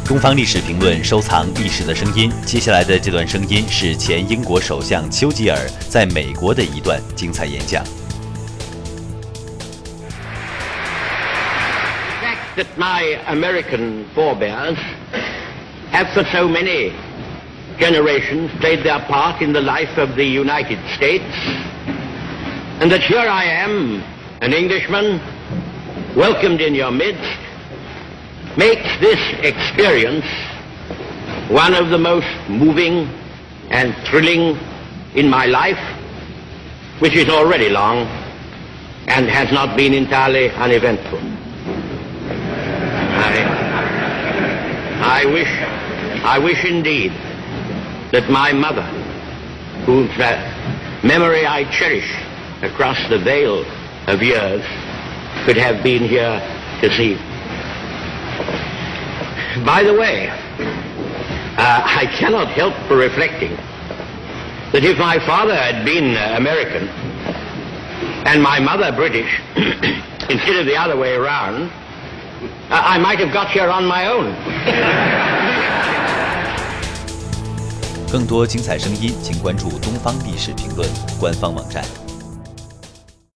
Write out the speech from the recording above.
东方历史评论收藏历史的声音，接下来的这段声音是前英国首相丘吉尔在美国的一段精彩演讲。 That my American forebears have for so many generations played their part in the life of the United States, and that here I am, an Englishman, welcomed in your midst, makes this experience one of the most moving and thrilling in my life, which is already long and has not been entirely uneventful. I wish indeed that my mother, whose memory I cherish across the veil of years, could have been here to see. By the way, I cannot help reflecting that if my father had been American and my mother British, instead of the other way around, I might have got here on my own. 更多精彩声音，请关注东方历史评论官方网站。